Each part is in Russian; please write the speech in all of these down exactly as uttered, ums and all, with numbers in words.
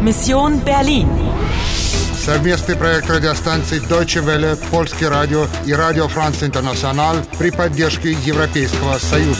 Mission Berlin. Совместный проект радиостанций Deutsche Welle, Польский радио и Радио Франц Интернациональ при поддержке Европейского Союза.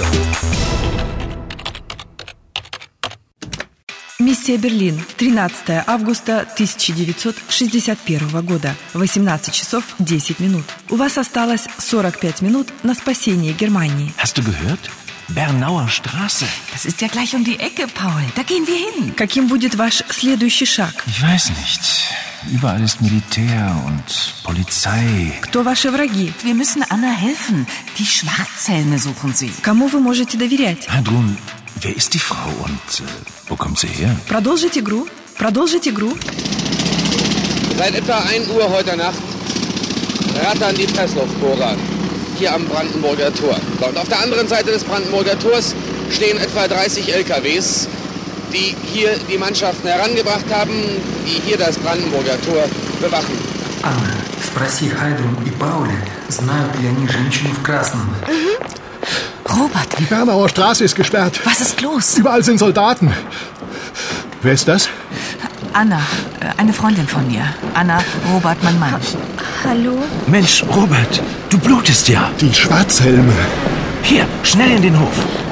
Миссия Берлин. тринадцатое августа тысяча девятьсот шестьдесят первого года. восемнадцать часов десять минут. У вас осталось сорок пять минут на спасение Германии. Hast du gehört? Bernauer Straße. Das ist ja gleich um die Ecke, Paul. Da gehen wir hin. Каким будет ваш следующий шаг? Ich weiß nicht. Überall ist Militär und Polizei. Кто ваши враги? Wir müssen Anna helfen. Die Schwarzhelme suchen sie. Кому вы можете доверять? Hadrun, wer ist die Frau und äh, wo kommt sie her? Продолжить игру. Продолжить игру. Seit etwa ein Uhr heute Nacht rattern die Pressluftbohrer hier am Brandenburger Tor. Und auf der anderen Seite des Brandenburger Tors stehen etwa dreißig L K Ws, die hier die Mannschaften herangebracht haben, die hier das Brandenburger Tor bewachen. Анна, спроси Хайдрун и Пауля, знают ли они женщину в красном. Robert. Die Bernauer Straße ist gesperrt. Was ist los? Überall sind Soldaten. Wer ist das? Anna, eine Freundin von mir. Anna, Robert, mein Mann. Hallo? Mensch, Robert, du blutest ja. Die Schwarzhelme. Hier, schnell in den Hof.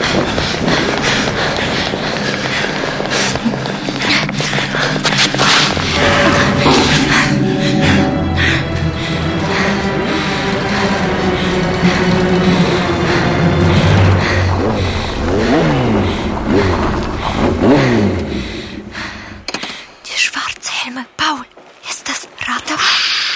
Die Schwarzhelme. Paul, ist das Rathaus?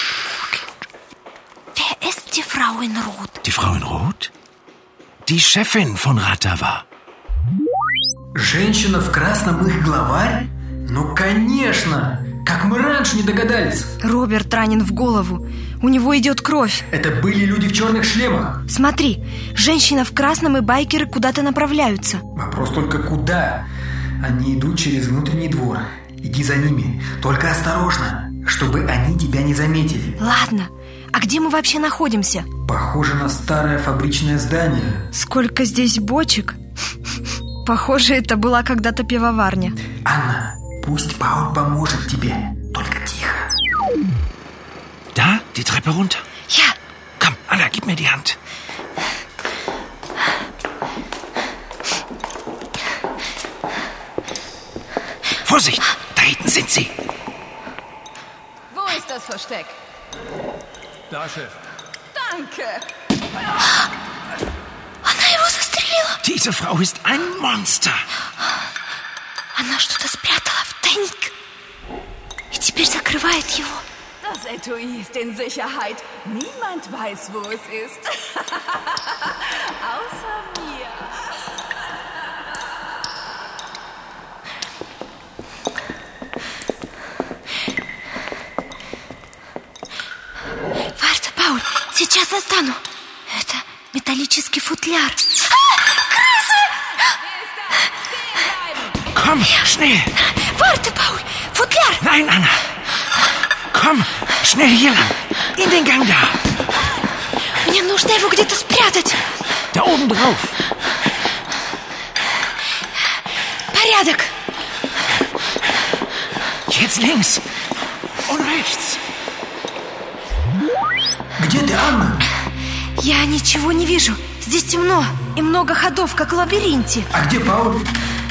Wer ist die Frau in Rot? Die Frau in Rot? Die Chefin von Ratava. Женщина в красном их главарь? Ну, конечно! Как мы раньше не догадались. Роберт ранен в голову. У него идет кровь. Это были люди в черных шлемах. Смотри, женщина в красном и байкеры куда-то направляются. Вопрос только куда? Они идут через внутренний двор. Иди за ними, только осторожно, чтобы они тебя не заметили. Ладно, а где мы вообще находимся? Похоже на старое фабричное здание. Сколько здесь бочек. Похоже, это была когда-то пивоварня. Анна, пусть Пауль поможет тебе. Только тихо. Da, die Treppe runter. Ja. Komm, Anna, gib mir die Hand. Vorsicht, da hinten sind sie. Wo ist das Versteck? Da, Chef. Danke. Она его застрелила. Diese Frau ist ein Monster. Она что-то спрятала в тайник и теперь закрывает его. Das Etui ist in Sicherheit. Niemand weiß, wo es ist. Außer mir. Варта, Пауль, сейчас достану. Это металлический футляр. А, крысы! Komm, schnell. Варта, Пауль, футляр. Nein, Anna. Komm, schnell hier lang. In den Gang da. Мне нужно его где-то спрятать. Da oben drauf. Порядок. Jetzt links. Und rechts. Где ты, Анна? Я ничего не вижу. Здесь темно и много ходов, как в лабиринте. А где Пауль?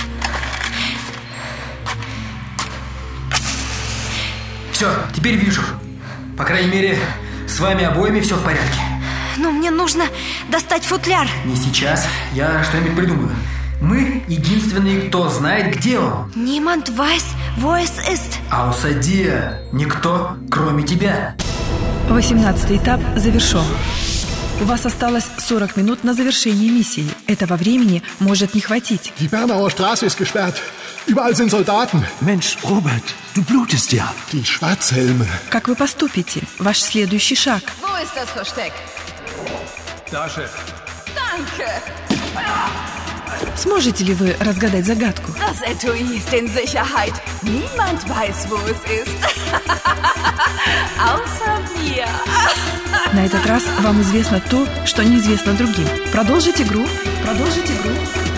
Все, теперь вижу. По крайней мере, с вами обоими все в порядке. Но мне нужно достать футляр. Не сейчас, я что-нибудь придумаю. Мы единственные, кто знает, где он. Niemand weiß, wo es ist. Außer никто, кроме тебя. восемнадцатый этап завершен. У вас осталось сорок минут на завершение миссии. Этого времени может не хватить. Die Bernauer Straße ist gesperrt. Überall sind Soldaten. Mensch, Robert, du blutest ja. Die Schwarzhelme. Как вы поступите? Ваш следующий шаг. Wo ist das Versteck? Da, Chef. Danke. Сможете ли вы разгадать загадку? Das Etui ist in Sicherheit. Niemand weiß, wo es ist. Außer mir. На этот раз вам известно то, что неизвестно другим. Продолжить игру. Продолжить игру.